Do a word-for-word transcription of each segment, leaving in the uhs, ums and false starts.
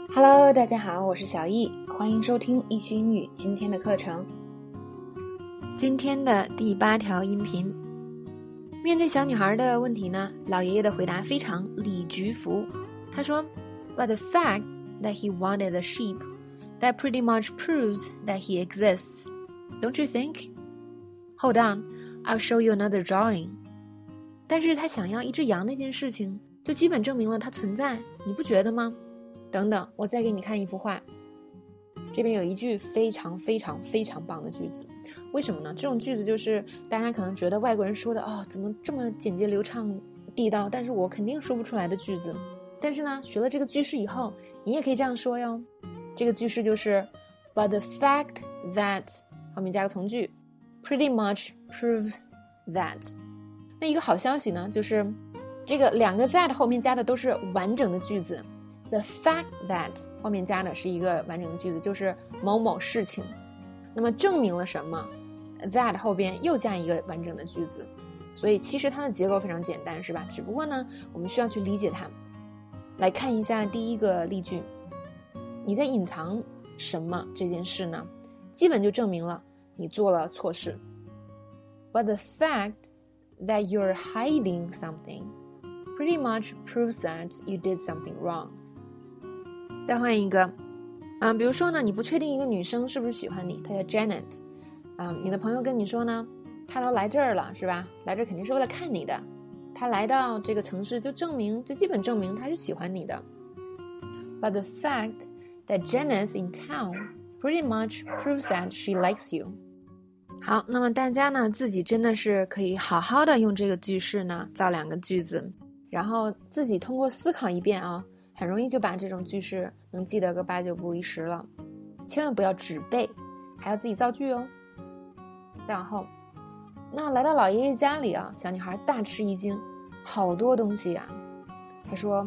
Hello， 大家好，我是小易，欢迎收听易趣英语今天的课程。今天的第八条音频，面对小女孩的问题呢，老爷爷的回答非常理直服。他说 But the fact that he wanted a sheep, that pretty much proves that he exists. Don't you think? Hold on, I'll show you another drawing. 但是他想要一只羊那件事情，就基本证明了它存在，你不觉得吗？等等，我再给你看一幅画。这边有一句非常非常非常棒的句子，为什么呢？这种句子就是大家可能觉得外国人说的哦，怎么这么简洁流畅地道，但是我肯定说不出来的句子。但是呢，学了这个句式以后，你也可以这样说哟。这个句式就是 But the fact that 后面加个从句 pretty much proves that。 那一个好消息呢，就是这个两个 that 后面加的都是完整的句子。The fact that 后面加的是一个完整的句子，就是某某事情。那么证明了什么？ That 后边又加一个完整的句子。所以其实它的结构非常简单，是吧？只不过呢，我们需要去理解它。来看一下第一个例句，你在隐藏什么这件事呢？基本就证明了你做了错事。But the fact that you're hiding something pretty much proves that you did something wrong。再换一个，嗯，比如说呢，你不确定一个女生是不是喜欢你，她叫 Janet， 嗯，你的朋友跟你说呢，她都来这儿了，是吧？来这儿肯定是为了看你的，她来到这个城市就证明，就基本证明她是喜欢你的。But the fact that Janet's in town pretty much proves that she likes you。好，那么大家呢，自己真的是可以好好的用这个句式呢，造两个句子，然后自己通过思考一遍啊。很容易就把这种句式能记得个八九不离十了，千万不要只背，还要自己造句哦。再往后，那来到老爷爷家里啊，小女孩大吃一惊，好多东西啊。她说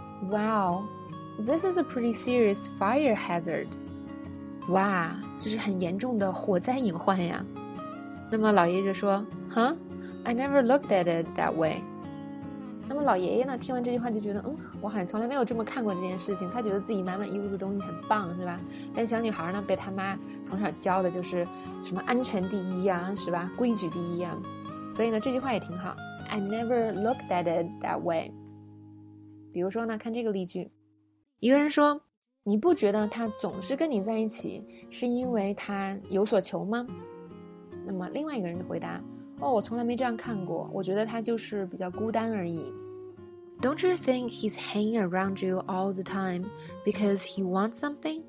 Wow, this is a pretty serious fire hazard. 哇，这是很严重的火灾隐患呀。那么老爷爷就说 Huh? I never looked at it that way.那么老爷爷呢，听完这句话就觉得，嗯，我好像从来没有这么看过这件事情。他觉得自己满满一屋子东西很棒，是吧？但小女孩呢，被他妈从小教的就是什么安全第一呀，是吧？规矩第一呀。所以呢，这句话也挺好。I never looked at it that way。比如说呢，看这个例句，一个人说，你不觉得他总是跟你在一起，是因为他有所求吗？那么另外一个人的回答，哦，我从来没这样看过，我觉得他就是比较孤单而已。Don't you think he's hanging around you all the time because he wants something?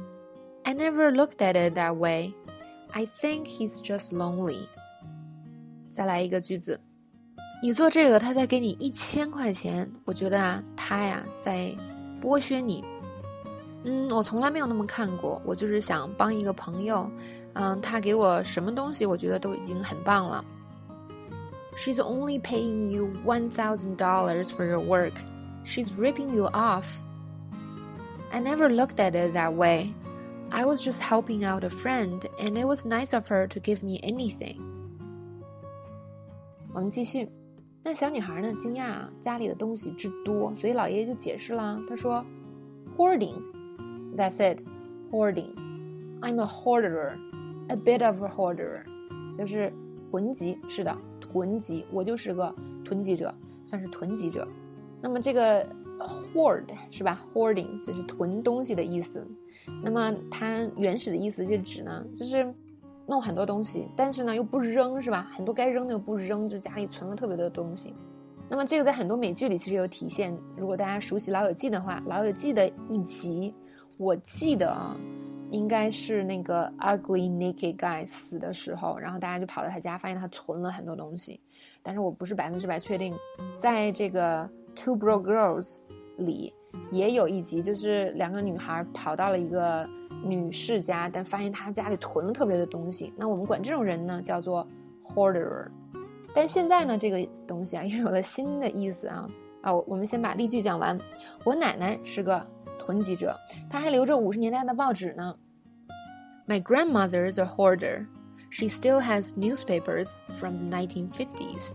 I never looked at it that way. I think he's just lonely. 再来一个句子，你做这个他才给你一千块钱，我觉得啊，他呀在剥削你。嗯，我从来没有那么看过，我就是想帮一个朋友，嗯，他给我什么东西，我觉得都已经很棒了。She's only paying you one thousand dollars for your work. She's ripping you off. I never looked at it that way. I was just helping out a friend, and it was nice of her to give me anything. 我们继续。那小女孩呢，惊讶啊，家里的东西之多，所以老爷爷就解释啦。他说 Hoarding. That's it. Hoarding. I'm a hoarder. A bit of a hoarder. 就是囤积，是的。囤积，我就是个囤积者，算是囤积者。那么这个 hoard 是吧 hoarding 就是囤东西的意思。那么它原始的意思就指呢，就是弄很多东西，但是呢又不扔，是吧？很多该扔的又不扔，就家里存了特别多的东西。那么这个在很多美剧里其实有体现。如果大家熟悉老友记的话，老友记的一集我记得啊，应该是那个 ugly naked guy 死的时候，然后大家就跑到他家，发现他存了很多东西。但是我不是百分之百确定，在这个 Two Broke Girls 里也有一集，就是两个女孩跑到了一个女士家，但发现她家里囤了特别的东西。那我们管这种人呢叫做 hoarder。但现在呢，这个东西啊又有了新的意思啊啊！我们先把例句讲完。我奶奶是个囤积者，她还留着五十年代的报纸呢。My grandmother's a hoarder. She still has newspapers from the nineteen fifties.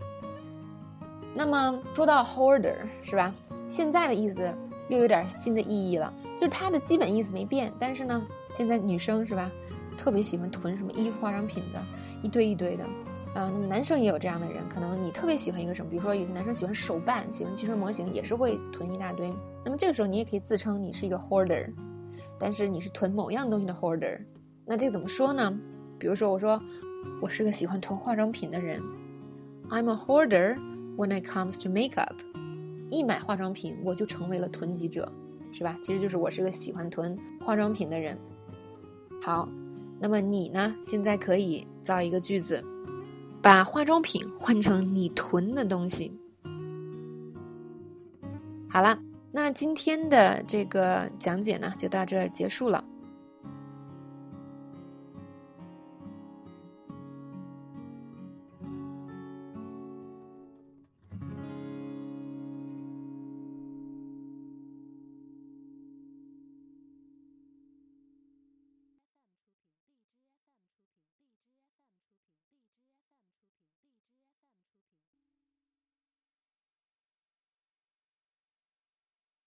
那么说到 hoarder 是吧？现在的意思又有点新的意义了。 就是它的基本意思没变，但是呢，现在女生是吧，特别喜欢囤什么衣服、化妆品的，一堆一堆的。啊，那么男生也有这样的人，可能你特别喜欢一个什么，比如说有些男生喜欢手办，喜欢汽车模型，也是会囤一大堆。那么这个时候你也可以自称你是一个 hoarder， 但是你是囤某样东西的 hoarder。那这个怎么说呢？比如说我说我是个喜欢囤化妆品的人， I'm a hoarder when it comes to makeup。 一买化妆品我就成为了囤积者，是吧？其实就是我是个喜欢囤化妆品的人。好，那么你呢，现在可以造一个句子，把化妆品换成你囤的东西。好了，那今天的这个讲解呢就到这儿结束了。